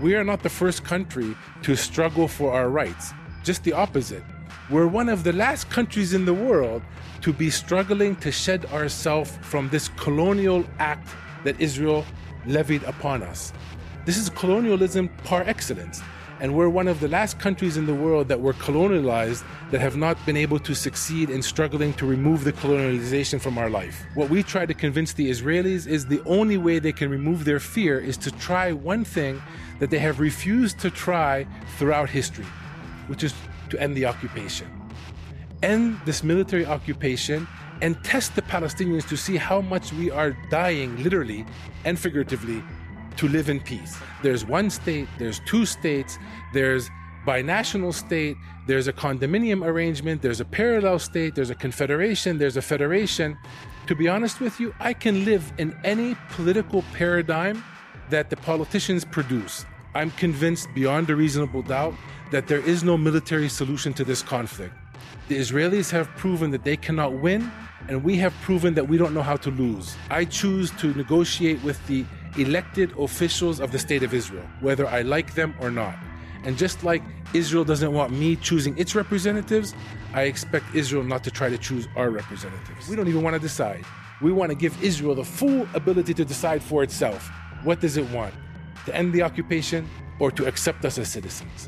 We are not the first country to struggle for our rights. Just the opposite. We're one of the last countries in the world to be struggling to shed ourselves from this colonial act that Israel levied upon us. This is colonialism par excellence. And we're one of the last countries in the world that were colonialized that have not been able to succeed in struggling to remove the colonialization from our life. What we try to convince the Israelis is the only way they can remove their fear is to try one thing that they have refused to try throughout history, which is to end the occupation. End this military occupation and test the Palestinians to see how much we are dying, literally and figuratively, to live in peace. There's one state, there's two states, there's binational state, there's a condominium arrangement, there's a parallel state, there's a confederation, there's a federation. To be honest with you, I can live in any political paradigm that the politicians produce. I'm convinced beyond a reasonable doubt that there is no military solution to this conflict. The Israelis have proven that they cannot win, and we have proven that we don't know how to lose. I choose to negotiate with the elected officials of the State of Israel, whether I like them or not. And just like Israel doesn't want me choosing its representatives, I expect Israel not to try to choose our representatives. We don't even want to decide. We want to give Israel the full ability to decide for itself. What does it want? To end the occupation or to accept us as citizens?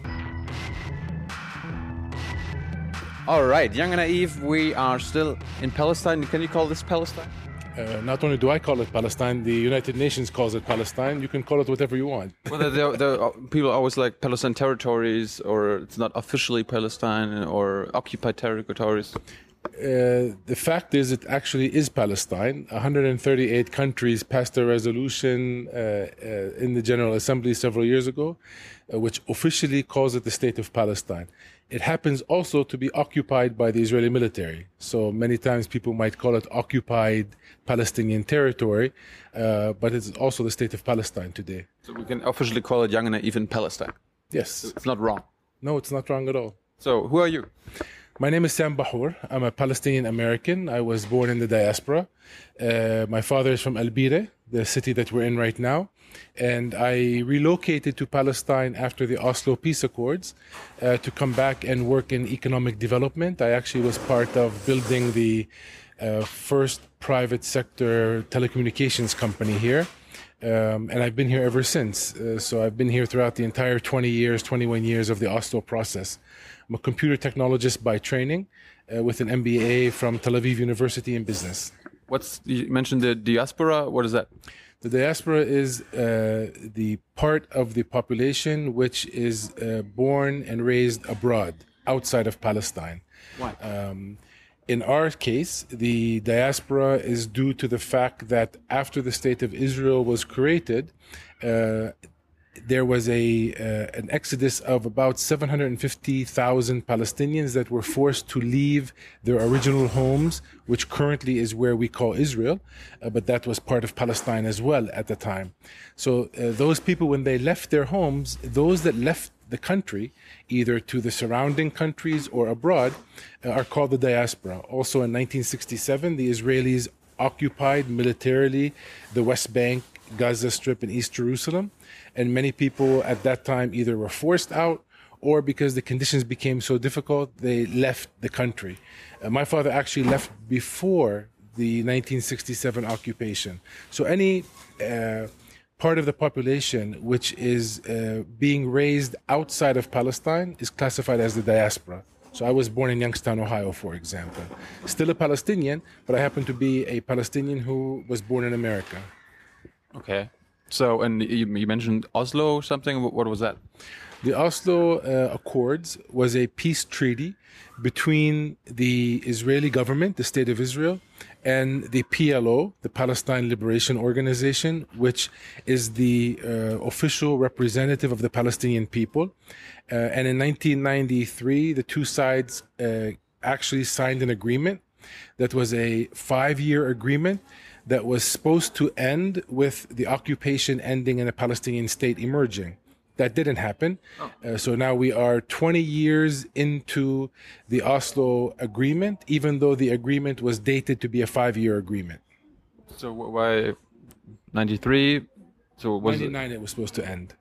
All right, Young and Naive, we are still in Palestine. Can you call this Palestine? Not only do I call it Palestine, the United Nations calls it Palestine. You can call it whatever you want. Well, the people always like Palestine territories, or it's not officially Palestine, or occupied territories. The fact is, it actually is Palestine. 138 countries passed a resolution in the General Assembly several years ago, which officially calls it the State of Palestine. It happens also to be occupied by the Israeli military. So many times people might call it occupied Palestinian territory, but it's also the State of Palestine today. So we can officially call it Young and Naive in Palestine. Yes. It's not wrong. No, it's not wrong at all. So who are you? My name is Sam Bahour. I'm a Palestinian American. I was born in the diaspora. My father is from El Bire, the city that we're in right now. And I relocated to Palestine after the Oslo Peace Accords to come back and work in economic development. I actually was part of building the first private sector telecommunications company here. And I've been here ever since. So I've been here throughout the entire 21 years of the Oslo process. I'm a computer technologist by training with an MBA from Tel Aviv University in business. You mentioned the diaspora. What is that? The diaspora is the part of the population which is born and raised abroad, outside of Palestine. Why? In our case, the diaspora is due to the fact that after the State of Israel was created, there was an exodus of about 750,000 Palestinians that were forced to leave their original homes, which currently is where we call Israel, but that was part of Palestine as well at the time. So those people, when they left their homes, those that left the country, either to the surrounding countries or abroad, are called the diaspora. Also in 1967, the Israelis occupied militarily the West Bank, Gaza Strip, and East Jerusalem. And many people at that time either were forced out or because the conditions became so difficult, they left the country. My father actually left before the 1967 occupation. So any part of the population which is being raised outside of Palestine is classified as the diaspora. So I was born in Youngstown, Ohio, for example. Still a Palestinian, but I happen to be a Palestinian who was born in America. Okay. So, and you mentioned Oslo something. What was that? The Oslo Accords was a peace treaty between the Israeli government, the State of Israel, and the PLO, the Palestine Liberation Organization, which is the official representative of the Palestinian people. And in 1993, the two sides actually signed an agreement that was a 5-year agreement that was supposed to end with the occupation ending and a Palestinian state emerging. That didn't happen. So now we are 20 years into the Oslo agreement, even though the agreement was dated to be a 5-year agreement. So why 93? So was 99 it was supposed to end.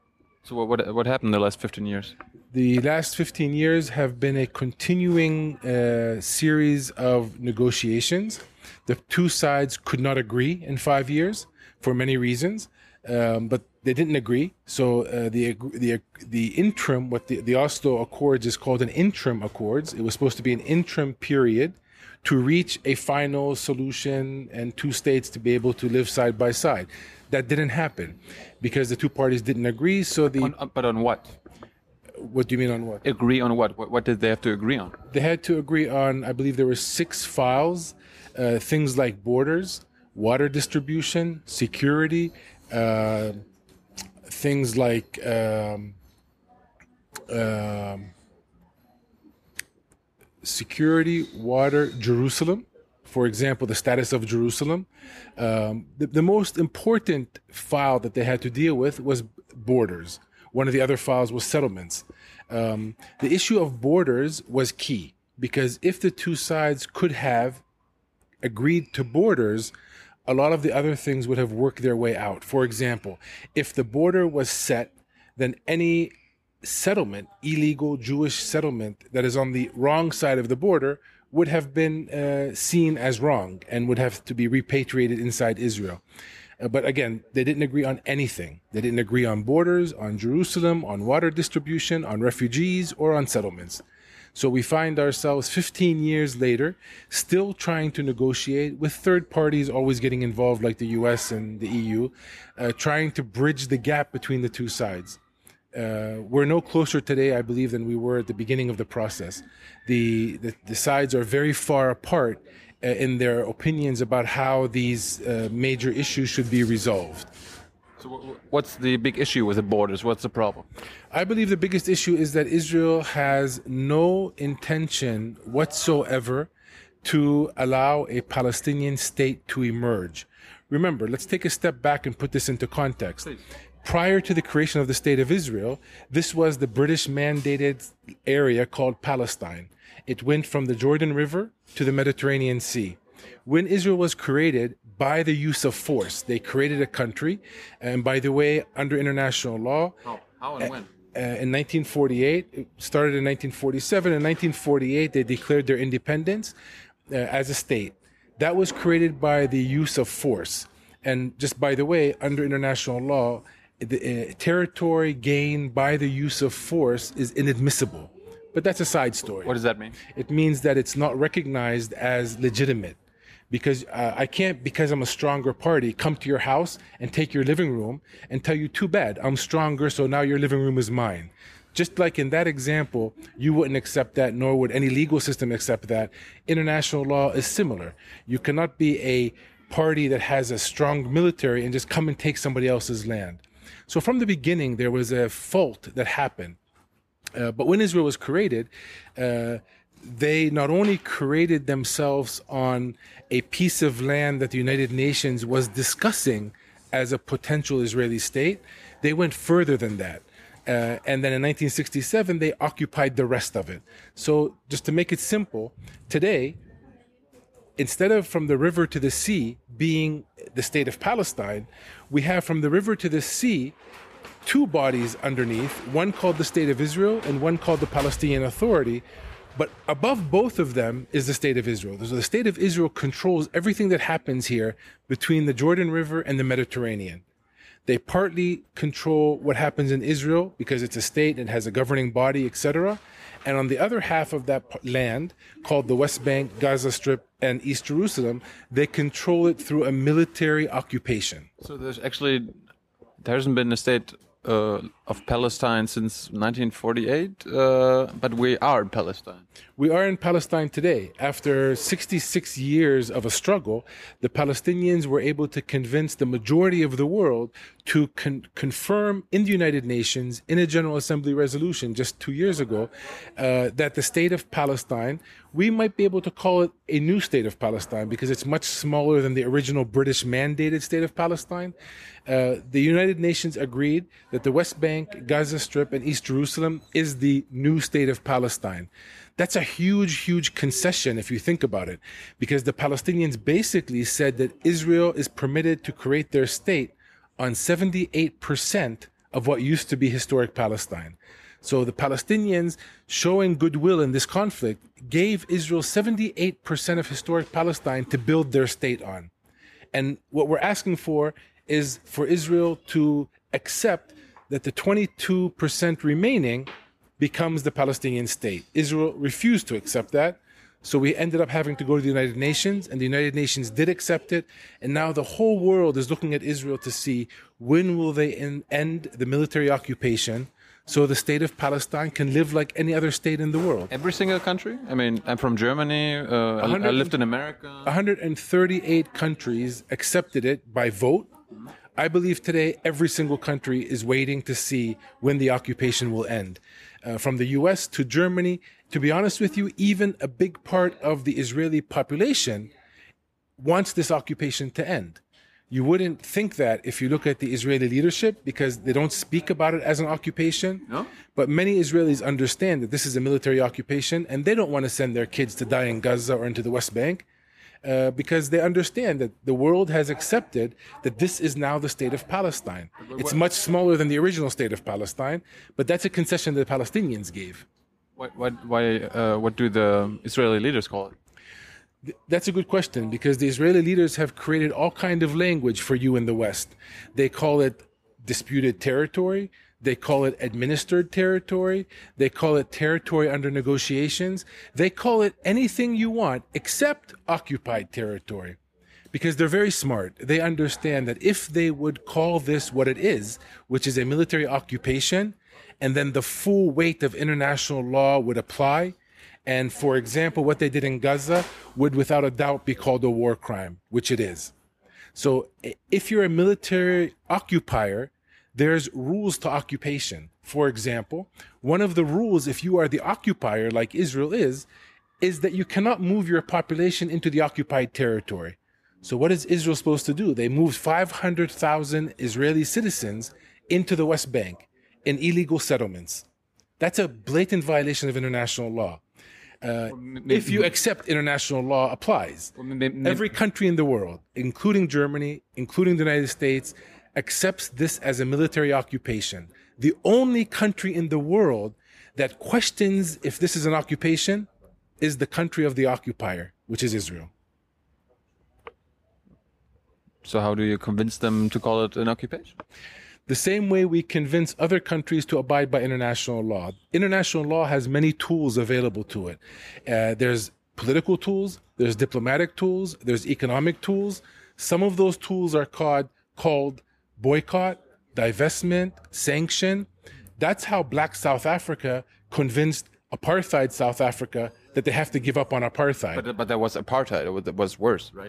So what happened the last 15 years? The last 15 years have been a continuing series of negotiations. The two sides could not agree in 5 years for many reasons, but they didn't agree. So the interim, what the Oslo Accords is called an interim accords. It was supposed to be an interim period to reach a final solution and two states to be able to live side by side. That didn't happen because the two parties didn't agree. So But on what? What do you mean on what? Agree on what? What did they have to agree on? They had to agree on, I believe there were 6 files, things like borders, water distribution, security, things like security, water, Jerusalem. For example, the status of Jerusalem. The most important file that they had to deal with was borders. One of the other files was settlements. The issue of borders was key because if the two sides could have agreed to borders, a lot of the other things would have worked their way out. For example, if the border was set, then any settlement, illegal Jewish settlement that is on the wrong side of the border would have been seen as wrong and would have to be repatriated inside Israel. But again, they didn't agree on anything. They didn't agree on borders, on Jerusalem, on water distribution, on refugees, or on settlements. So we find ourselves 15 years later still trying to negotiate with third parties always getting involved like the US and the EU, trying to bridge the gap between the two sides. We're no closer today, I believe, than we were at the beginning of the process. The sides are very far apart in their opinions about how these major issues should be resolved. So what's the big issue with the borders? What's the problem? I believe the biggest issue is that Israel has no intention whatsoever to allow a Palestinian state to emerge. Remember, let's take a step back and put this into context. Please. Prior to the creation of the State of Israel, this was the British mandated area called Palestine. It went from the Jordan River to the Mediterranean Sea. When Israel was created by the use of force, they created a country. And by the way, under international law, How and when? in 1948, it started in 1947. In 1948, they declared their independence as a state. That was created by the use of force. And just by the way, under international law, the territory gained by the use of force is inadmissible. But that's a side story. What does that mean? It means that it's not recognized as legitimate. Because I can't, because I'm a stronger party, come to your house and take your living room and tell you, too bad, I'm stronger, so now your living room is mine. Just like in that example, you wouldn't accept that, nor would any legal system accept that. International law is similar. You cannot be a party that has a strong military and just come and take somebody else's land. So from the beginning, there was a fault that happened. But when Israel was created, they not only created themselves on a piece of land that the United Nations was discussing as a potential Israeli state, they went further than that. And then in 1967, they occupied the rest of it. So just to make it simple, today, instead of from the river to the sea being the state of Palestine, we have from the river to the sea 2 bodies underneath, one called the State of Israel and one called the Palestinian Authority. But above both of them is the State of Israel. So the State of Israel controls everything that happens here between the Jordan River and the Mediterranean. They partly control what happens in Israel because it's a state and has a governing body, etc. And on the other half of that land, called the West Bank, Gaza Strip, and East Jerusalem, they control it through a military occupation. So there hasn't been a state of Palestine since 1948, but we are in Palestine. We are in Palestine today. After 66 years of a struggle, the Palestinians were able to convince the majority of the world to confirm in the United Nations, in a General Assembly resolution just 2 years ago, that the state of Palestine, we might be able to call it a new state of Palestine because it's much smaller than the original British mandated state of Palestine. The United Nations agreed that the West Bank, Gaza Strip, and East Jerusalem is the new state of Palestine. That's a huge, huge concession if you think about it, because the Palestinians basically said that Israel is permitted to create their state on 78% of what used to be historic Palestine. So the Palestinians, showing goodwill in this conflict, gave Israel 78% of historic Palestine to build their state on. And what we're asking for is for Israel to accept that the 22% remaining becomes the Palestinian state. Israel refused to accept that. So we ended up having to go to the United Nations, and the United Nations did accept it. And now the whole world is looking at Israel to see when will they end the military occupation so the state of Palestine can live like any other state in the world. Every single country? I mean, I'm from Germany. I lived in America. 138 countries accepted it by vote. I believe today every single country is waiting to see when the occupation will end. From the US to Germany, to be honest with you, even a big part of the Israeli population wants this occupation to end. You wouldn't think that if you look at the Israeli leadership, because they don't speak about it as an occupation. No? But many Israelis understand that this is a military occupation, and they don't want to send their kids to die in Gaza or into the West Bank, because they understand that the world has accepted that this is now the state of Palestine. It's much smaller than the original state of Palestine, but that's a concession that the Palestinians gave. What do the Israeli leaders call it? That's a good question, because the Israeli leaders have created all kind of language for you in the West. They call it disputed territory. They call it administered territory. They call it territory under negotiations. They call it anything you want except occupied territory, because they're very smart. They understand that if they would call this what it is, which is a military occupation, and then the full weight of international law would apply, and, for example, what they did in Gaza would without a doubt be called a war crime, which it is. So if you're a military occupier, there's rules to occupation. For example, one of the rules, if you are the occupier, like Israel is that you cannot move your population into the occupied territory. So what is Israel supposed to do? They moved 500,000 Israeli citizens into the West Bank in illegal settlements. That's a blatant violation of international law. If you accept international law applies. Every country in the world, including Germany, including the United States, accepts this as a military occupation. The only country in the world that questions if this is an occupation is the country of the occupier, which is Israel. So how do you convince them to call it an occupation? The same way we convince other countries to abide by international law. International law has many tools available to it. There's political tools, there's diplomatic tools, there's economic tools. Some of those tools are called boycott, divestment, sanction. That's how Black South Africa convinced apartheid South Africa that they have to give up on apartheid. But that was apartheid. It was worse, right?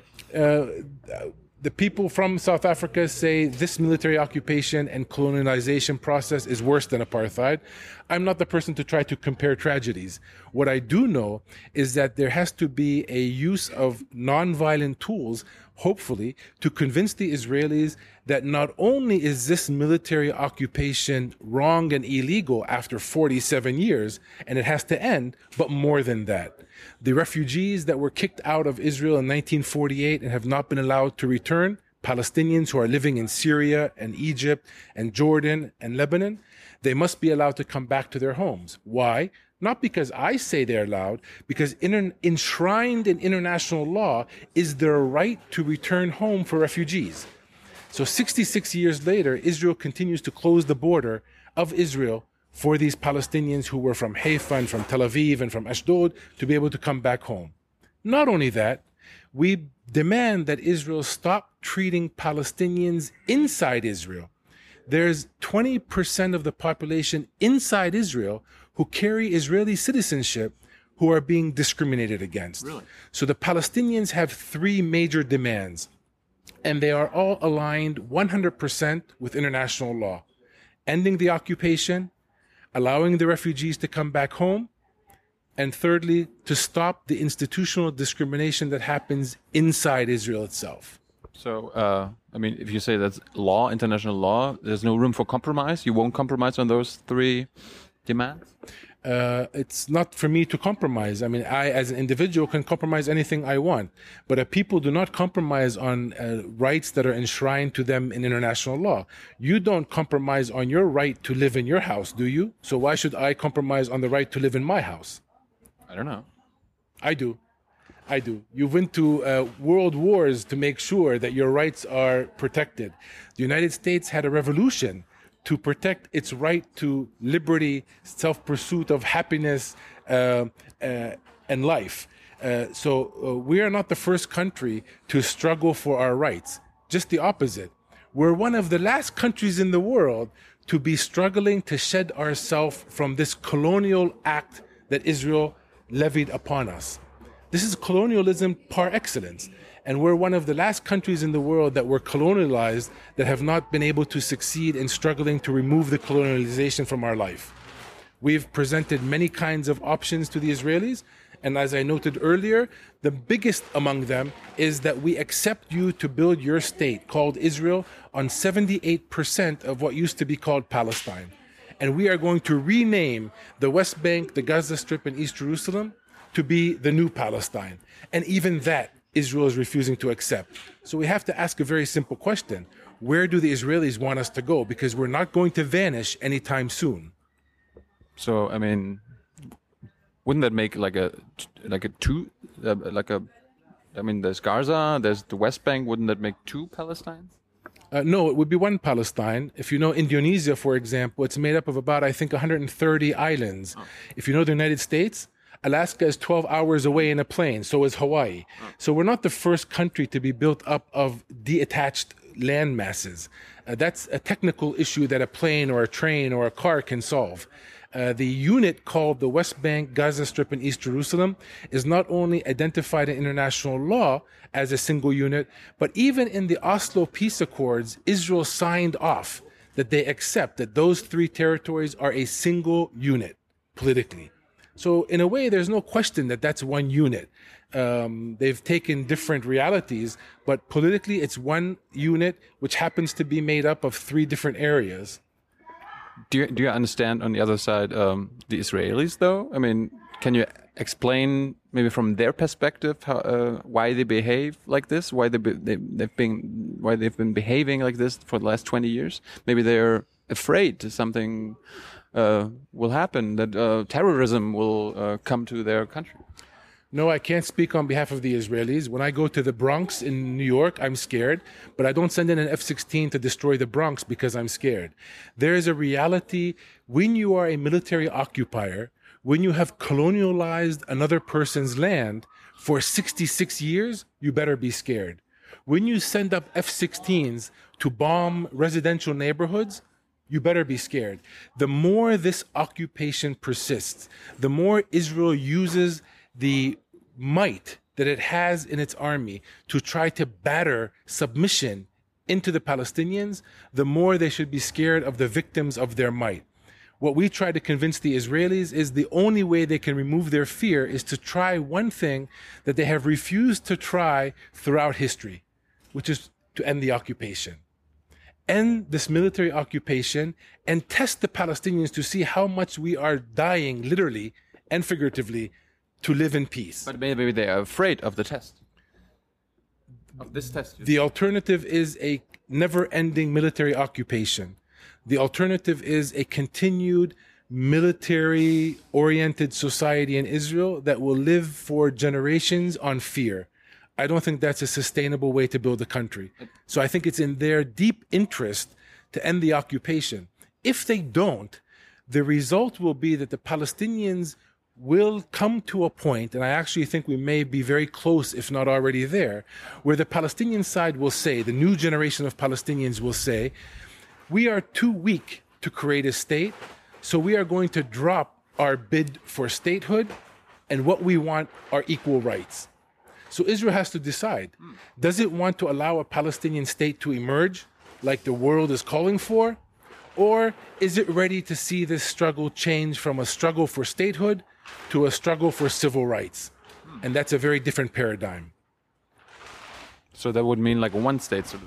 The people from South Africa say this military occupation and colonialization process is worse than apartheid. I'm not the person to try to compare tragedies. What I do know is that there has to be a use of nonviolent tools, hopefully, to convince the Israelis that not only is this military occupation wrong and illegal after 47 years, and it has to end, but more than that. The refugees that were kicked out of Israel in 1948 and have not been allowed to return, Palestinians who are living in Syria and Egypt and Jordan and Lebanon, they must be allowed to come back to their homes. Why? Not because I say they're allowed, because enshrined in international law is their right to return home for refugees. So 66 years later, Israel continues to close the border of Israel for these Palestinians who were from Haifa and from Tel Aviv and from Ashdod to be able to come back home. Not only that, we demand that Israel stop treating Palestinians inside Israel. There's 20% of the population inside Israel who carry Israeli citizenship who are being discriminated against. Really? So the Palestinians have three major demands, and they are all aligned 100% with international law. Ending the occupation, allowing the refugees to come back home, and thirdly, to stop the institutional discrimination that happens inside Israel itself. So, I mean, if you say that's law, international law, there's no room for compromise? You won't compromise on those three demands? it's not for me to compromise. I mean, I, as an individual, can compromise anything I want. But people do not compromise on rights that are enshrined to them in international law. You don't compromise on your right to live in your house, do you? So why should I compromise on the right to live in my house? I don't know. I do. You went to world wars to make sure that your rights are protected. The United States had a revolution to protect its right to liberty, self-pursuit of happiness, and life. So we are not the first country to struggle for our rights. Just the opposite. We're one of the last countries in the world to be struggling to shed ourselves from this colonial act that Israel levied upon us. This is colonialism par excellence. And we're one of the last countries in the world that were colonialized that have not been able to succeed in struggling to remove the colonialization from our life. We've presented many kinds of options to the Israelis. And as I noted earlier, the biggest among them is that we accept you to build your state called Israel on 78% of what used to be called Palestine. And we are going to rename the West Bank, the Gaza Strip, and East Jerusalem to be the new Palestine. And even that, Israel is refusing to accept. So we have to ask a very simple question. Where do the Israelis want us to go? Because we're not going to vanish anytime soon. So, I mean, wouldn't that make there's Gaza, there's the West Bank, wouldn't that make two Palestines? No, it would be one Palestine. If you know Indonesia, for example, it's made up of about, I think, 130 islands. Oh. If you know the United States, Alaska is 12 hours away in a plane, so is Hawaii. Oh. So we're not the first country to be built up of detached land masses. That's a technical issue that a plane or a train or a car can solve. The unit called the West Bank, Gaza Strip, and East Jerusalem is not only identified in international law as a single unit, but even in the Oslo Peace Accords, Israel signed off that they accept that those three territories are a single unit politically. So in a way, there's no question that that's one unit. They've taken different realities, but politically, it's one unit which happens to be made up of three different areas. Do you understand on the other side the Israelis, though? I mean, can you explain maybe from their perspective how, why they behave like this? Why they've been behaving like this for the last 20 years? Maybe they're afraid something will happen, that terrorism will come to their country. No, I can't speak on behalf of the Israelis. When I go to the Bronx in New York, I'm scared, but I don't send in an F-16 to destroy the Bronx because I'm scared. There is a reality when you are a military occupier, when you have colonialized another person's land for 66 years, you better be scared. When you send up F-16s to bomb residential neighborhoods, you better be scared. The more this occupation persists, the more Israel uses the might that it has in its army to try to batter submission into the Palestinians, the more they should be scared of the victims of their might. What we try to convince the Israelis is the only way they can remove their fear is to try one thing that they have refused to try throughout history, which is to end the occupation. End this military occupation and test the Palestinians to see how much we are dying, literally and figuratively, to live in peace. But maybe they are afraid of the test. Of this test. The alternative is a never-ending military occupation. The alternative is a continued military-oriented society in Israel that will live for generations on fear. I don't think that's a sustainable way to build a country. So I think it's in their deep interest to end the occupation. If they don't, the result will be that the Palestinians will come to a point, and I actually think we may be very close, if not already there, where the Palestinian side will say, the new generation of Palestinians will say, we are too weak to create a state, so we are going to drop our bid for statehood, and what we want are equal rights. So Israel has to decide, does it want to allow a Palestinian state to emerge like the world is calling for? Or is it ready to see this struggle change from a struggle for statehood to a struggle for civil rights? And that's a very different paradigm. So that would mean like a one-state solution?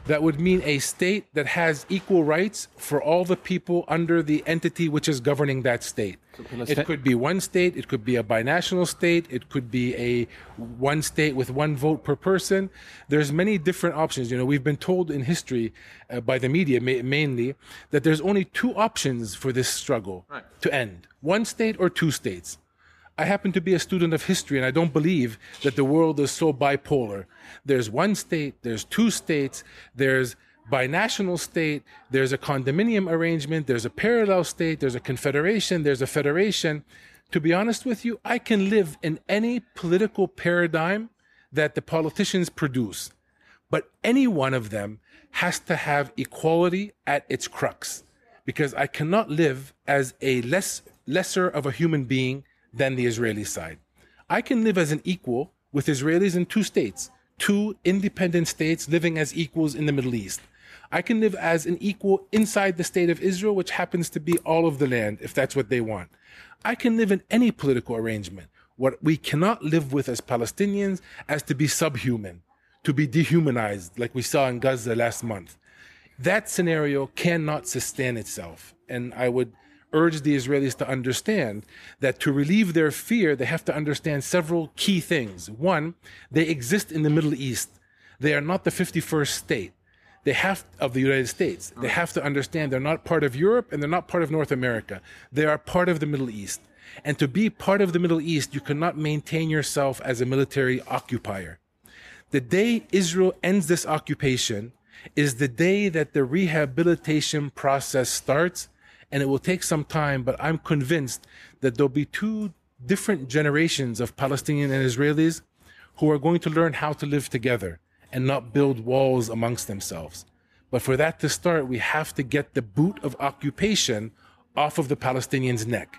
That would mean a state that has equal rights for all the people under the entity which is governing that state. It could be one state, it could be a binational state, it could be a one state with one vote per person. There's many different options. You know, we've been told in history by the media mainly that there's only two options for this struggle to end: one state or two states. I happen to be a student of history, and I don't believe that the world is so bipolar. There's one state, there's two states, there's binational state, there's a condominium arrangement, there's a parallel state, there's a confederation, there's a federation. To be honest with you, I can live in any political paradigm that the politicians produce, but any one of them has to have equality at its crux, because I cannot live as a lesser of a human being than the Israeli side. I can live as an equal with Israelis in two states, two independent states living as equals in the Middle East. I can live as an equal inside the state of Israel, which happens to be all of the land, if that's what they want. I can live in any political arrangement. What we cannot live with as Palestinians as to be subhuman, to be dehumanized, like we saw in Gaza last month. That scenario cannot sustain itself. And I would urge the Israelis to understand that to relieve their fear, they have to understand several key things. One, they exist in the Middle East. They are not the 51st state. They have of the United States. They have to understand they're not part of Europe and they're not part of North America. They are part of the Middle East. And to be part of the Middle East, you cannot maintain yourself as a military occupier. The day Israel ends this occupation is the day that the rehabilitation process starts. And it will take some time, but I'm convinced that there'll be two different generations of Palestinians and Israelis who are going to learn how to live together and not build walls amongst themselves. But for that to start, we have to get the boot of occupation off of the Palestinians' neck.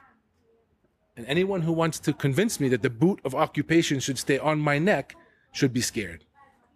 And anyone who wants to convince me that the boot of occupation should stay on my neck should be scared.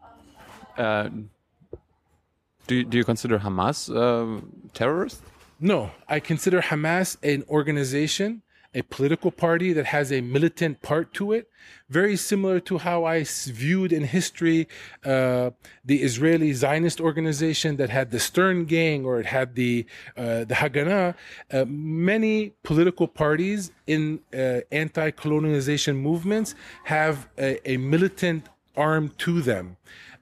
Do you consider Hamas terrorist? No, I consider Hamas an organization, a political party that has a militant part to it, very similar to how I viewed in history the Israeli Zionist organization that had the Stern Gang, or it had the Haganah. Many political parties in anti-colonialization movements have a militant arm to them.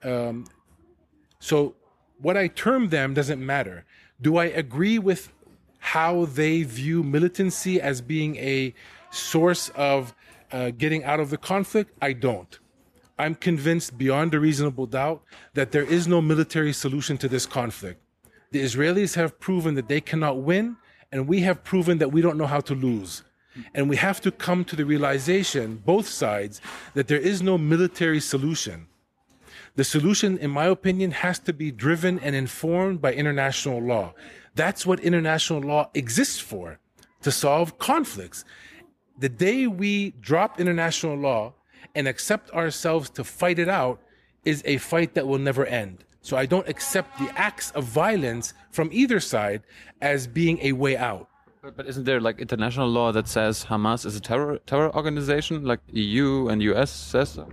So what I term them doesn't matter. Do I agree with how they view militancy as being a source of getting out of the conflict? I don't. I'm convinced beyond a reasonable doubt that there is no military solution to this conflict. The Israelis have proven that they cannot win, and we have proven that we don't know how to lose. And we have to come to the realization, both sides, that there is no military solution. The solution, in my opinion, has to be driven and informed by international law. That's what international law exists for, to solve conflicts. The day we drop international law and accept ourselves to fight it out is a fight that will never end. So I don't accept the acts of violence from either side as being a way out. But isn't there like international law that says Hamas is a terror organization, like EU and US says so?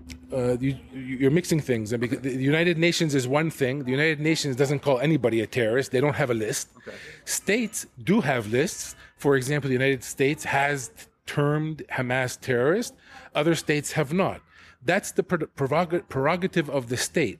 You're mixing things. And because the United Nations is one thing. The United Nations doesn't call anybody a terrorist. They don't have a list. Okay. States do have lists. For example, the United States has termed Hamas terrorist. Other states have not. That's the prerogative of the state.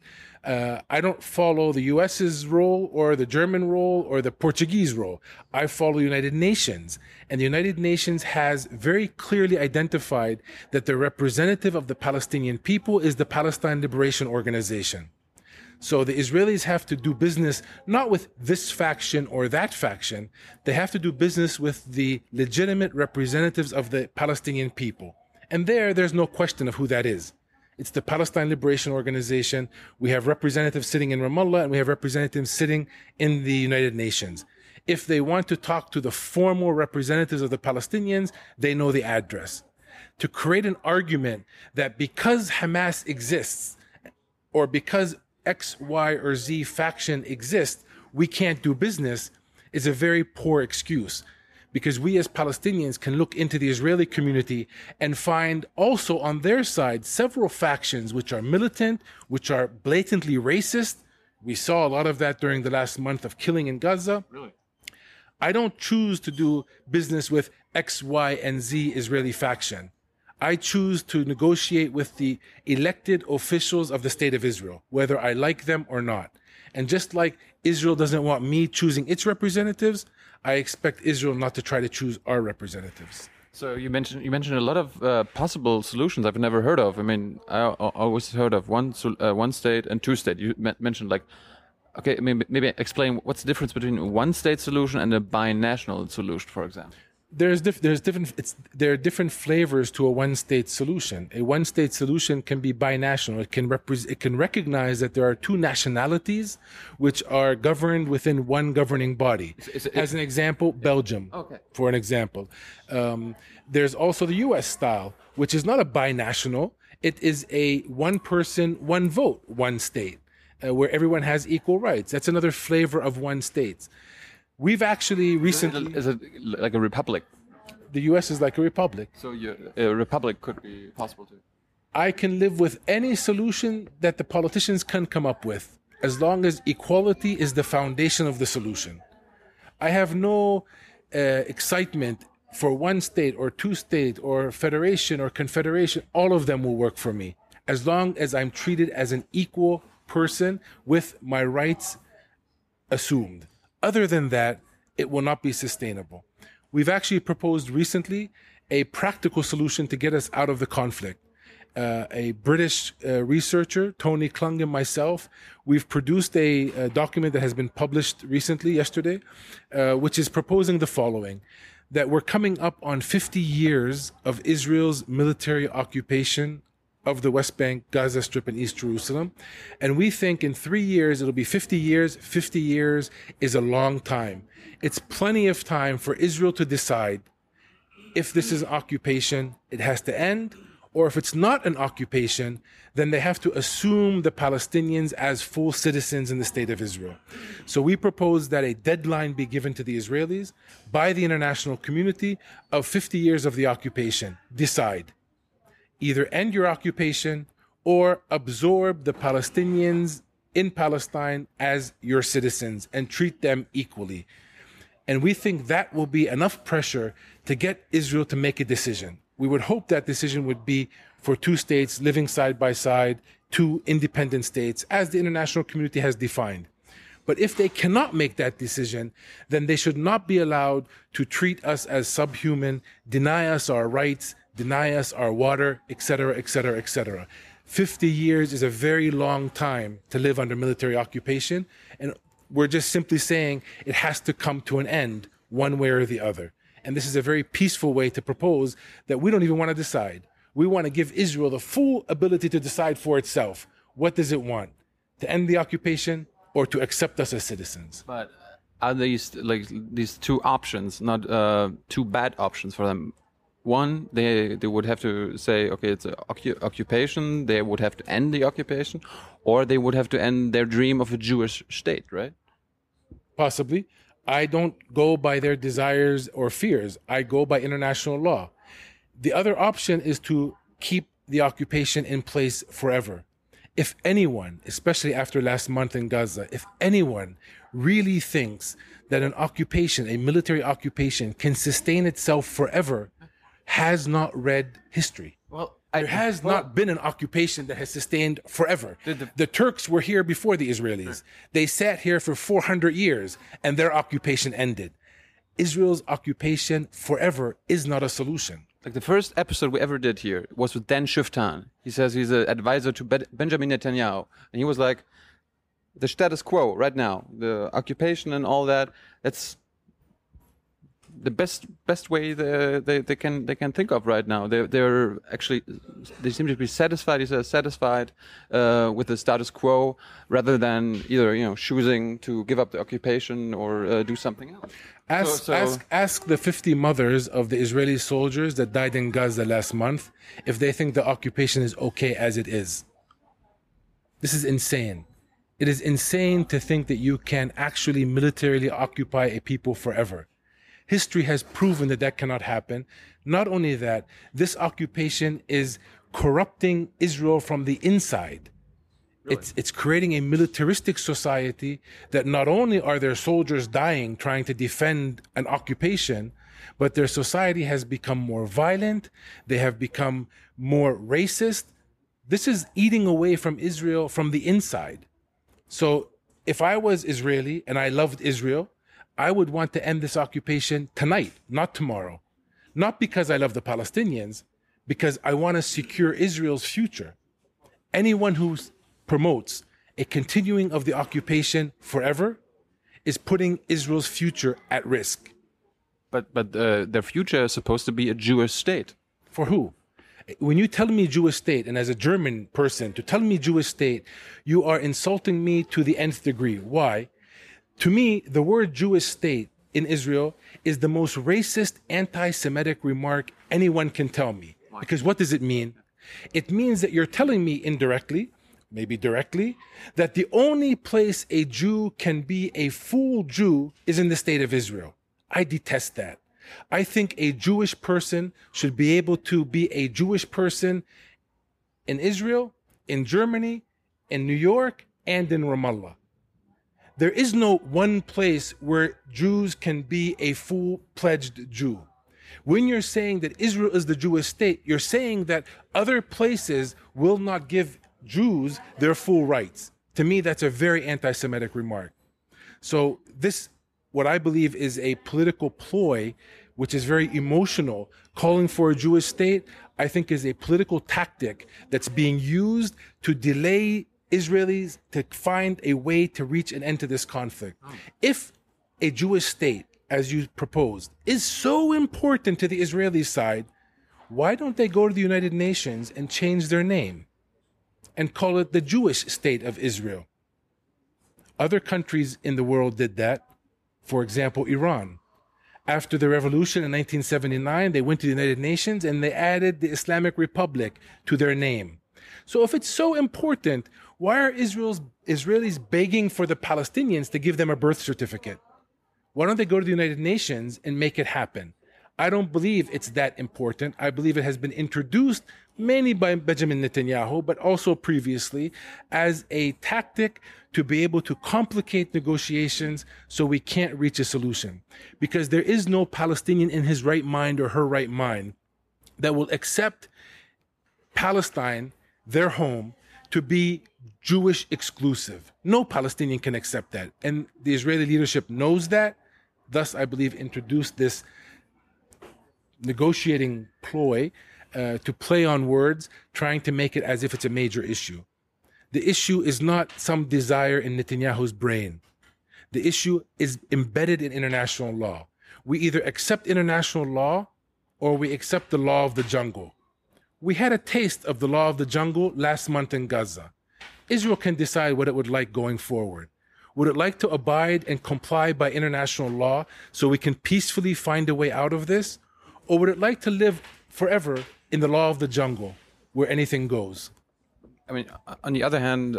I don't follow the US's role or the German role or the Portuguese role. I follow the United Nations. And the United Nations has very clearly identified that the representative of the Palestinian people is the Palestine Liberation Organization. So the Israelis have to do business not with this faction or that faction. They have to do business with the legitimate representatives of the Palestinian people. And there's no question of who that is. It's the Palestine Liberation Organization. We have representatives sitting in Ramallah and we have representatives sitting in the United Nations. If they want to talk to the formal representatives of the Palestinians, they know the address. To create an argument that because Hamas exists or because X, Y, or Z faction exists, we can't do business is a very poor excuse. Because we as Palestinians can look into the Israeli community and find also on their side several factions which are militant, which are blatantly racist, We saw a lot of that during the last month of killing in Gaza. Really? I don't choose to do business with X, Y, and Z Israeli faction. I choose to negotiate with the elected officials of the state of Israel, whether I like them or not. And just like Israel doesn't want me choosing its representatives, I expect Israel not to try to choose our representatives. So you mentioned a lot of possible solutions I've never heard of. I mean, I always heard of one state and two state. You mentioned like, okay, maybe explain what's the difference between a one state solution and a binational solution, for example. There are different flavors to a one-state solution. A one-state solution can be binational. It can recognize that there are two nationalities which are governed within one governing body. As an example, Belgium. Okay. For an example, there's also the U.S. style, which is not a binational. It is a one person, one vote, one state, where everyone has equal rights. That's another flavor of one state. We've actually recently... Is it like a republic? The U.S. is like a republic. So a republic could be possible too. I can live with any solution that the politicians can come up with, as long as equality is the foundation of the solution. I have no excitement for one state or two state or federation or confederation. All of them will work for me, as long as I'm treated as an equal person with my rights assumed. Other than that, it will not be sustainable. We've actually proposed recently a practical solution to get us out of the conflict. A British researcher, Tony Klung, and myself, we've produced a document that has been published recently, yesterday, which is proposing the following: that we're coming up on 50 years of Israel's military occupation of the West Bank, Gaza Strip, and East Jerusalem. And we think in 3 years, it'll be 50 years. 50 years is a long time. It's plenty of time for Israel to decide if this is an occupation, it has to end, or if it's not an occupation, then they have to assume the Palestinians as full citizens in the state of Israel. So we propose that a deadline be given to the Israelis by the international community of 50 years of the occupation. Decide. Either end your occupation or absorb the Palestinians in Palestine as your citizens and treat them equally. And we think that will be enough pressure to get Israel to make a decision. We would hope that decision would be for two states living side by side, two independent states, as the international community has defined. But if they cannot make that decision, then they should not be allowed to treat us as subhuman, deny us our rights, deny us our water, etc., etc., etc. 50 years is a very long time to live under military occupation, and we're just simply saying it has to come to an end one way or the other. And this is a very peaceful way to propose that we don't even want to decide. We want to give Israel the full ability to decide for itself. What does it want? To end the occupation or to accept us as citizens? But are these like these two options not two bad options for them? One, they would have to say, okay, it's an occupation. They would have to end the occupation, or they would have to end their dream of a Jewish state, right? Possibly. I don't go by their desires or fears. I go by international law. The other option is to keep the occupation in place forever. If anyone, especially after last month in Gaza, if anyone really thinks that an occupation, a military occupation, can sustain itself forever, has not read history. Well, there has not been an occupation that has sustained forever. The Turks were here before the Israelis. They sat here for 400 years and their occupation ended. Israel's occupation forever is not a solution. Like the first episode we ever did here was with Dan Shiftan. He says he's an advisor to Benjamin Netanyahu. And he was like, the status quo right now, the occupation and all that, that's the best way they can think of right now. They're actually, they seem to be satisfied. He says satisfied with the status quo rather than either choosing to give up the occupation or do something else. Ask the 50 mothers of the Israeli soldiers that died in Gaza last month if they think the occupation is okay as it is. This is insane. It is insane to think that you can actually militarily occupy a people forever. History has proven that that cannot happen. Not only that, this occupation is corrupting Israel from the inside. It's creating a militaristic society that not only are their soldiers dying trying to defend an occupation, but their society has become more violent. They have become more racist. This is eating away from Israel from the inside. So if I was Israeli and I loved Israel, I would want to end this occupation tonight, not tomorrow. Not because I love the Palestinians, because I want to secure Israel's future. Anyone who promotes a continuing of the occupation forever is putting Israel's future at risk. But their future is supposed to be a Jewish state. For who? When you tell me Jewish state, and as a German person, to tell me Jewish state, you are insulting me to the nth degree. Why? To me, the word Jewish state in Israel is the most racist, anti-Semitic remark anyone can tell me. Because what does it mean? It means that you're telling me indirectly, maybe directly, that the only place a Jew can be a full Jew is in the state of Israel. I detest that. I think a Jewish person should be able to be a Jewish person in Israel, in Germany, in New York, and in Ramallah. There is no one place where Jews can be a full-pledged Jew. When you're saying that Israel is the Jewish state, you're saying that other places will not give Jews their full rights. To me, that's a very anti-Semitic remark. So this, what I believe is a political ploy, which is very emotional, calling for a Jewish state, I think is a political tactic that's being used to delay Israelis to find a way to reach an end to this conflict. If a Jewish state, as you proposed, is so important to the Israeli side, why don't they go to the United Nations and change their name and call it the Jewish state of Israel? Other countries in the world did that. For example, Iran. After the revolution in 1979, they went to the United Nations and they added the Islamic Republic to their name. So if it's so important, why are Israelis begging for the Palestinians to give them a birth certificate? Why don't they go to the United Nations and make it happen? I don't believe it's that important. I believe it has been introduced mainly by Benjamin Netanyahu, but also previously as a tactic to be able to complicate negotiations so we can't reach a solution. Because there is no Palestinian in his right mind or her right mind that will accept Palestine, their home, to be Jewish exclusive. No Palestinian can accept that. And the Israeli leadership knows that. Thus, I believe, introduced this negotiating ploy to play on words, trying to make it as if it's a major issue. The issue is not some desire in Netanyahu's brain. The issue is embedded in international law. We either accept international law or we accept the law of the jungle. We had a taste of the law of the jungle last month in Gaza. Israel can decide what it would like going forward. Would it like to abide and comply by international law so we can peacefully find a way out of this? Or would it like to live forever in the law of the jungle where anything goes? I mean, on the other hand,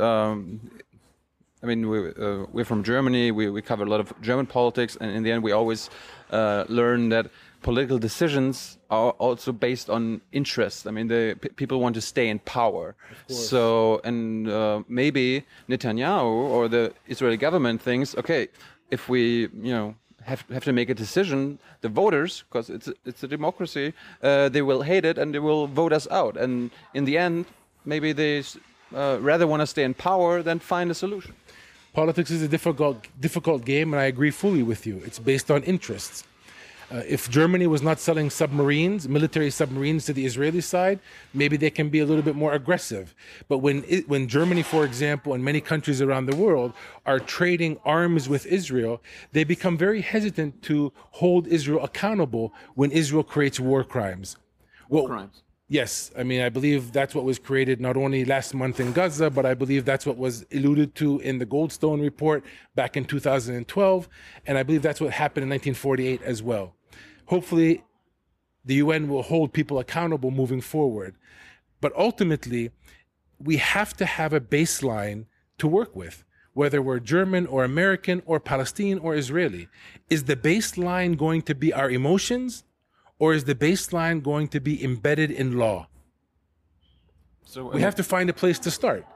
we're from Germany. We cover a lot of German politics, and in the end, we always learn that political decisions are also based on interest. I mean, people want to stay in power. So, and maybe Netanyahu or the Israeli government thinks, okay, if we, have to make a decision, the voters, because it's a democracy, they will hate it and they will vote us out. And in the end, maybe they rather want to stay in power than find a solution. Politics is a difficult game, and I agree fully with you. It's based on interests. If Germany was not selling submarines, military submarines to the Israeli side, maybe they can be a little bit more aggressive. But when Germany, for example, and many countries around the world are trading arms with Israel, they become very hesitant to hold Israel accountable when Israel creates war crimes. War crimes? Yes. I mean, I believe that's what was created not only last month in Gaza, but I believe that's what was alluded to in the Goldstone report back in 2012. And I believe that's what happened in 1948 as well. Hopefully, the UN will hold people accountable moving forward. But ultimately, we have to have a baseline to work with, whether we're German or American or Palestinian or Israeli. Is the baseline going to be our emotions? Or is the baseline going to be embedded in law? So we have to find a place to start.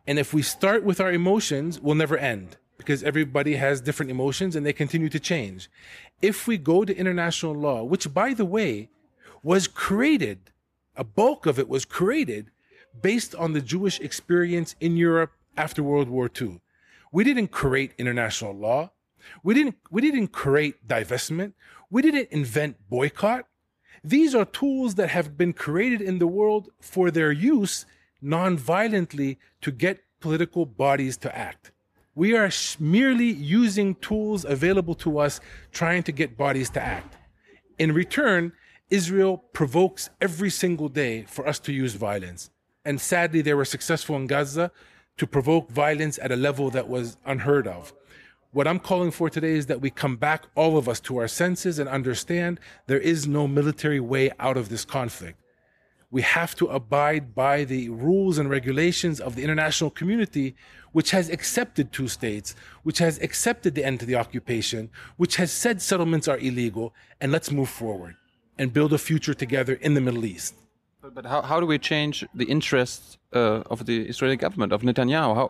And if we start with our emotions, we'll never end because everybody has different emotions and they continue to change. If we go to international law, which, by the way, was created, a bulk of it was created based on the Jewish experience in Europe after World War II. We didn't create international law. We didn't create divestment. We didn't invent boycott. These are tools that have been created in the world for their use non-violently to get political bodies to act. We are merely using tools available to us trying to get bodies to act. In return, Israel provokes every single day for us to use violence. And sadly, they were successful in Gaza to provoke violence at a level that was unheard of. What I'm calling for today is that we come back, all of us, to our senses and understand there is no military way out of this conflict. We have to abide by the rules and regulations of the international community, which has accepted two states, which has accepted the end to the occupation, which has said settlements are illegal, and let's move forward and build a future together in the Middle East. But how do we change the interests of the Israeli government, of Netanyahu?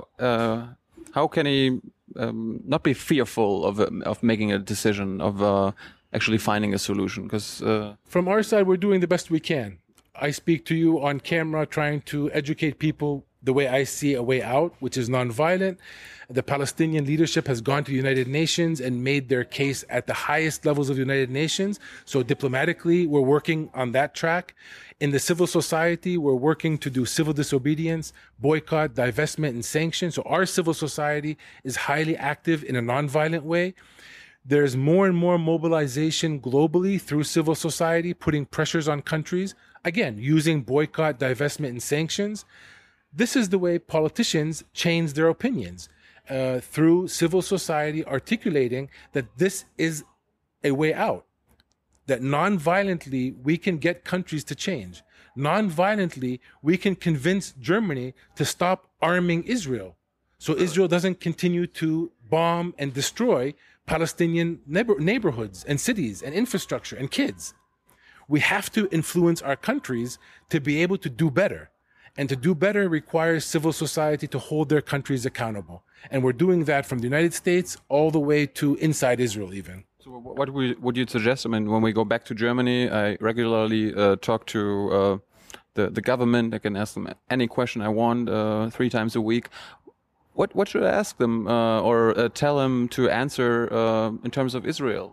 How can he not be fearful of making a decision, of actually finding a solution? Because from our side, we're doing the best we can. I speak to you on camera trying to educate people the way I see a way out, which is nonviolent. The Palestinian leadership has gone to the United Nations and made their case at the highest levels of the United Nations. So diplomatically, we're working on that track. In the civil society, we're working to do civil disobedience, boycott, divestment, and sanctions. So our civil society is highly active in a nonviolent way. There's more and more mobilization globally through civil society, putting pressures on countries, again, using boycott, divestment, and sanctions. This is the way politicians change their opinions, through civil society articulating that this is a way out, that non-violently we can get countries to change. Non-violently, we can convince Germany to stop arming Israel, so Israel doesn't continue to bomb and destroy Palestinian neighborhoods and cities and infrastructure and kids. We have to influence our countries to be able to do better. And to do better requires civil society to hold their countries accountable. And we're doing that from the United States all the way to inside Israel even. So what would you suggest? I mean, when we go back to Germany, I regularly talk to the government. I can ask them any question I want 3 times a week. What should I ask them or tell them to answer in terms of Israel?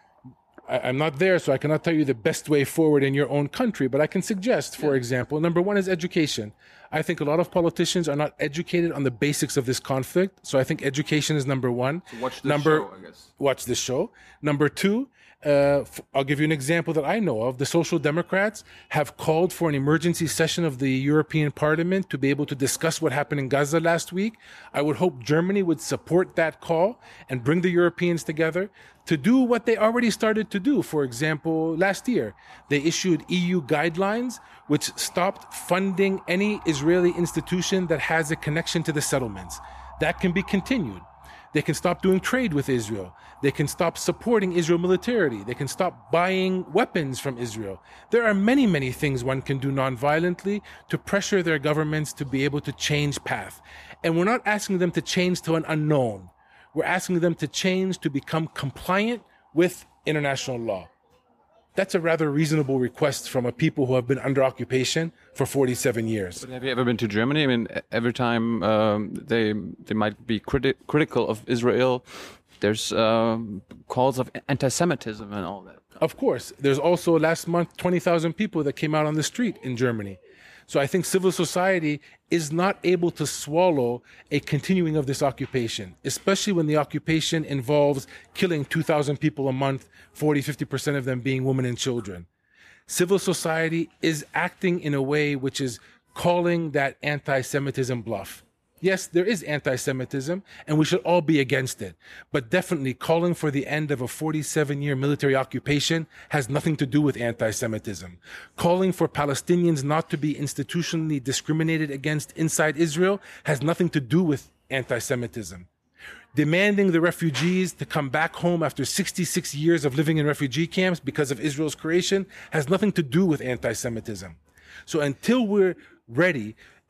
I'm not there, so I cannot tell you the best way forward in your own country, but I can suggest, for example, number one is education. I think a lot of politicians are not educated on the basics of this conflict, so I think education is number one. So watch this show, I guess. Watch this show. Number two, I'll give you an example that I know of. The Social Democrats have called for an emergency session of the European Parliament to be able to discuss what happened in Gaza last week. I would hope Germany would support that call and bring the Europeans together to do what they already started to do. For example, last year, they issued EU guidelines which stopped funding any Israeli institution that has a connection to the settlements. That can be continued. They can stop doing trade with Israel. They can stop supporting Israel militarily. They can stop buying weapons from Israel. There are many, many things one can do non-violently to pressure their governments to be able to change path. And we're not asking them to change to an unknown. We're asking them to change to become compliant with international law. That's a rather reasonable request from a people who have been under occupation for 47 years. But have you ever been to Germany? I mean, every time they might be critical of Israel, there's calls of anti-Semitism and all that. Of course. There's also last month 20,000 people that came out on the street in Germany. So I think civil society is not able to swallow a continuing of this occupation, especially when the occupation involves killing 2,000 people a month, 40-50% of them being women and children. Civil society is acting in a way which is calling that anti-Semitism bluff. Yes, there is anti-Semitism, and we should all be against it. But definitely calling for the end of a 47-year military occupation has nothing to do with anti-Semitism. Calling for Palestinians not to be institutionally discriminated against inside Israel has nothing to do with anti-Semitism. Demanding the refugees to come back home after 66 years of living in refugee camps because of Israel's creation has nothing to do with anti-Semitism. So until we're ready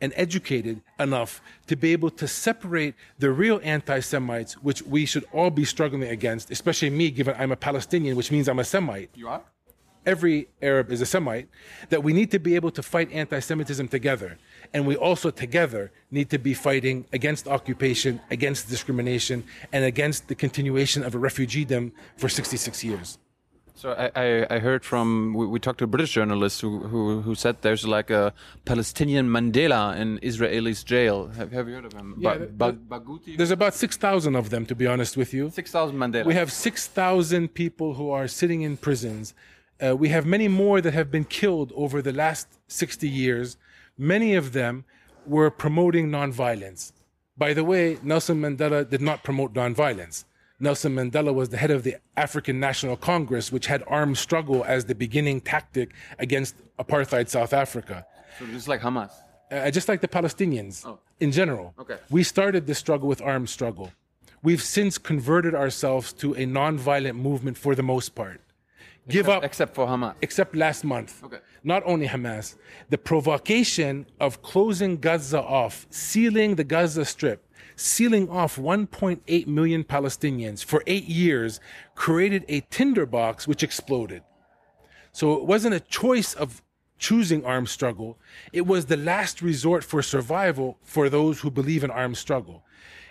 and educated enough to be able to separate the real anti-Semites, which we should all be struggling against, especially me, given I'm a Palestinian, which means I'm a Semite. You are? Every Arab is a Semite, that we need to be able to fight anti-Semitism together. And we also together need to be fighting against occupation, against discrimination, and against the continuation of a refugeedom for 66 years. So I heard from, we talked to a British journalist who said there's like a Palestinian Mandela in Israeli's jail. Have you heard of him? Yeah, Bagouti? There's about 6,000 of them, to be honest with you. 6,000 Mandela. We have 6,000 people who are sitting in prisons. We have many more that have been killed over the last 60 years. Many of them were promoting nonviolence. By the way, Nelson Mandela did not promote nonviolence. Nelson Mandela was the head of the African National Congress, which had armed struggle as the beginning tactic against apartheid South Africa. So just like Hamas? Just like the Palestinians in general. Okay. We started this struggle with armed struggle. We've since converted ourselves to a nonviolent movement for the most part. Except for Hamas. Except last month. Okay. Not only Hamas. The provocation of closing Gaza off, sealing the Gaza Strip, sealing off 1.8 million Palestinians for 8 years, created a tinderbox which exploded. So it wasn't a choice of choosing armed struggle. It was the last resort for survival for those who believe in armed struggle.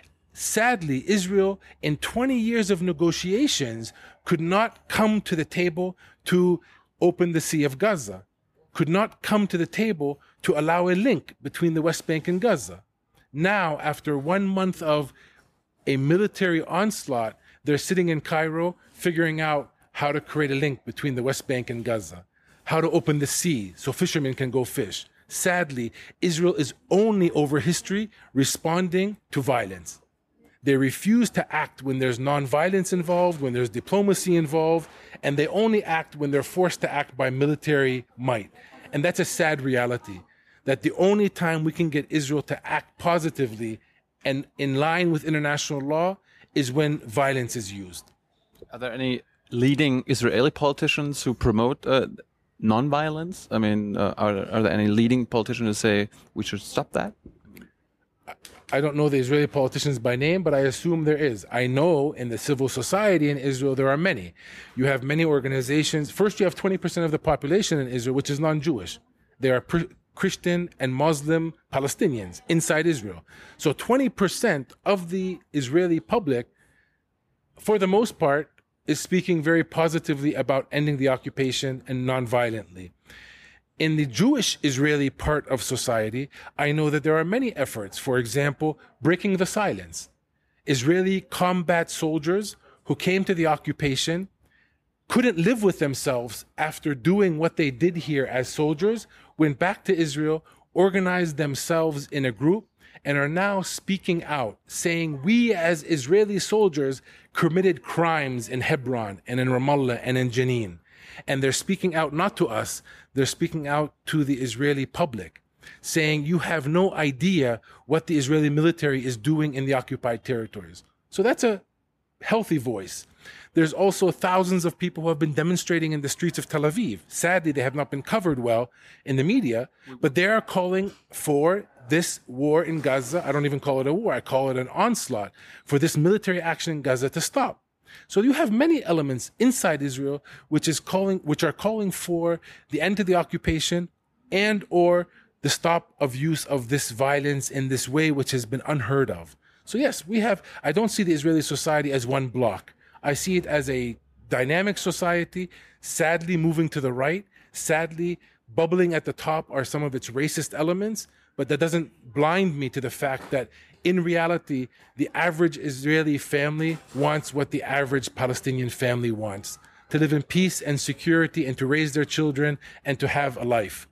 Sadly, Israel, in 20 years of negotiations, could not come to the table to open the Sea of Gaza, could not come to the table to allow a link between the West Bank and Gaza. Now, after 1 month of a military onslaught, they're sitting in Cairo figuring out how to create a link between the West Bank and Gaza, how to open the sea so fishermen can go fish. Sadly, Israel is only over history responding to violence. They refuse to act when there's nonviolence involved, when there's diplomacy involved, and they only act when they're forced to act by military might. And that's a sad reality, that the only time we can get Israel to act positively and in line with international law is when violence is used. Are there any leading Israeli politicians who promote nonviolence? I mean, are there any leading politicians who say we should stop that? I don't know the Israeli politicians by name, but I assume there is. I know in the civil society in Israel, there are many. You have many organizations. First, you have 20% of the population in Israel, which is non-Jewish. They are Christian and Muslim Palestinians inside Israel. So 20% of the Israeli public, for the most part, is speaking very positively about ending the occupation and non-violently. In the Jewish Israeli part of society, I know that there are many efforts. For example, breaking the silence. Israeli combat soldiers who came to the occupation couldn't live with themselves after doing what they did here as soldiers, went back to Israel, organized themselves in a group, and are now speaking out, saying we as Israeli soldiers committed crimes in Hebron and in Ramallah and in Jenin. And they're speaking out not to us, they're speaking out to the Israeli public, saying you have no idea what the Israeli military is doing in the occupied territories. So that's a healthy voice. There's also thousands of people who have been demonstrating in the streets of Tel Aviv. Sadly, they have not been covered well in the media, but they are calling for this war in Gaza. I don't even call it a war, I call it an onslaught, for this military action in Gaza to stop. So you have many elements inside Israel which are calling for the end to the occupation and or the stop of use of this violence in this way which has been unheard of. So yes, I don't see the Israeli society as one block. I see it as a dynamic society, sadly moving to the right, sadly bubbling at the top are some of its racist elements, but that doesn't blind me to the fact that in reality, the average Israeli family wants what the average Palestinian family wants, to live in peace and security and to raise their children and to have a life.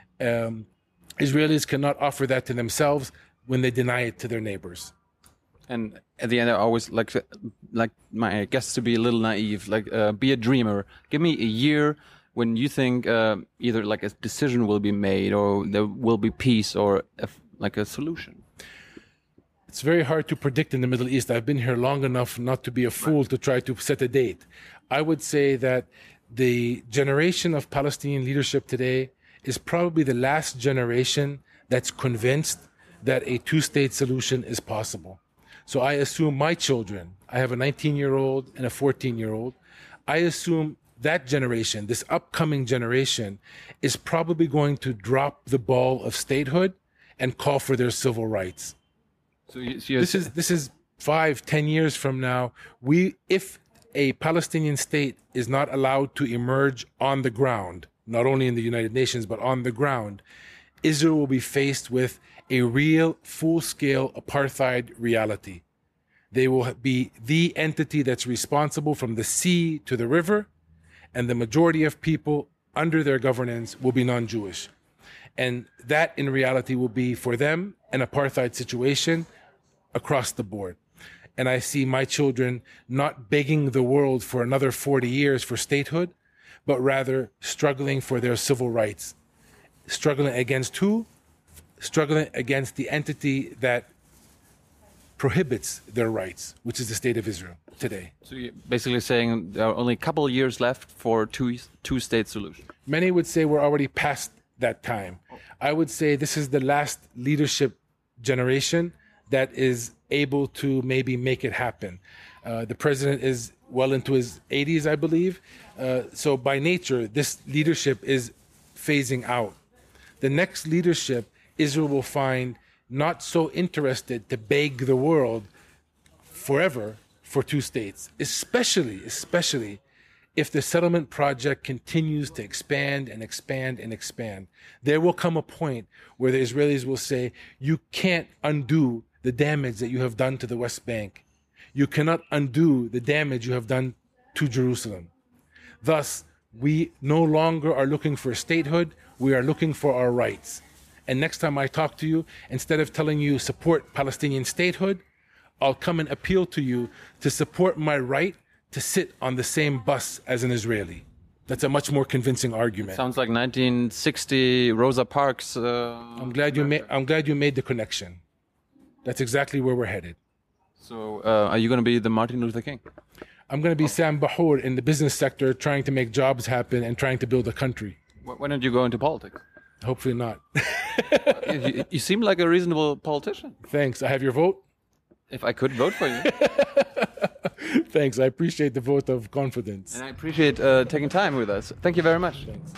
Israelis cannot offer that to themselves when they deny it to their neighbors. And at the end, I always like my guests to be a little naive, be a dreamer. Give me a year when you think either like a decision will be made or there will be peace or like a solution. It's very hard to predict in the Middle East. I've been here long enough not to be a fool to try to set a date. I would say that the generation of Palestinian leadership today is probably the last generation that's convinced that a two-state solution is possible. So I assume my children, I have a 19-year-old and a 14-year-old, I assume that generation, this upcoming generation, is probably going to drop the ball of statehood and call for their civil rights. So This is 5-10 years from now. If a Palestinian state is not allowed to emerge on the ground, not only in the United Nations, but on the ground, Israel will be faced with a real full-scale apartheid reality. They will be the entity that's responsible from the sea to the river, and the majority of people under their governance will be non-Jewish. And that, in reality, will be, for them, an apartheid situation across the board. And I see my children not begging the world for another 40 years for statehood, but rather struggling for their civil rights. Struggling against who? Struggling against the entity that prohibits their rights, which is the state of Israel today. So you're basically saying there are only a couple of years left for two-state solution. Many would say we're already past that time. I would say this is the last leadership generation that is able to maybe make it happen. The president is well into his 80s, I believe. So by nature, this leadership is phasing out. The next leadership, Israel will find not so interested to beg the world forever for two states, especially if the settlement project continues to expand and expand and expand. There will come a point where the Israelis will say, you can't undo the damage that you have done to the West Bank. You cannot undo the damage you have done to Jerusalem. Thus, we no longer are looking for statehood, we are looking for our rights. And next time I talk to you, instead of telling you support Palestinian statehood, I'll come and appeal to you to support my right to sit on the same bus as an Israeli. That's a much more convincing argument. Sounds like 1960 Rosa Parks. I'm glad you made the connection. That's exactly where we're headed. So, are you going to be the Martin Luther King? I'm going to be Sam Bahour in the business sector, trying to make jobs happen and trying to build a country. When did you go into politics? Hopefully not. You seem like a reasonable politician. Thanks. I have your vote. If I could vote for you. Thanks. I appreciate the vote of confidence. And I appreciate taking time with us. Thank you very much. Thanks.